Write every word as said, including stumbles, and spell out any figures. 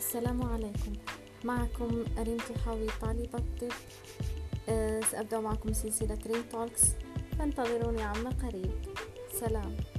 السلام عليكم. معكم ريم طحاوي طالبة طب. أه سأبدأ معكم سلسلة ريم توكس، فانتظروني عما قريب. سلام.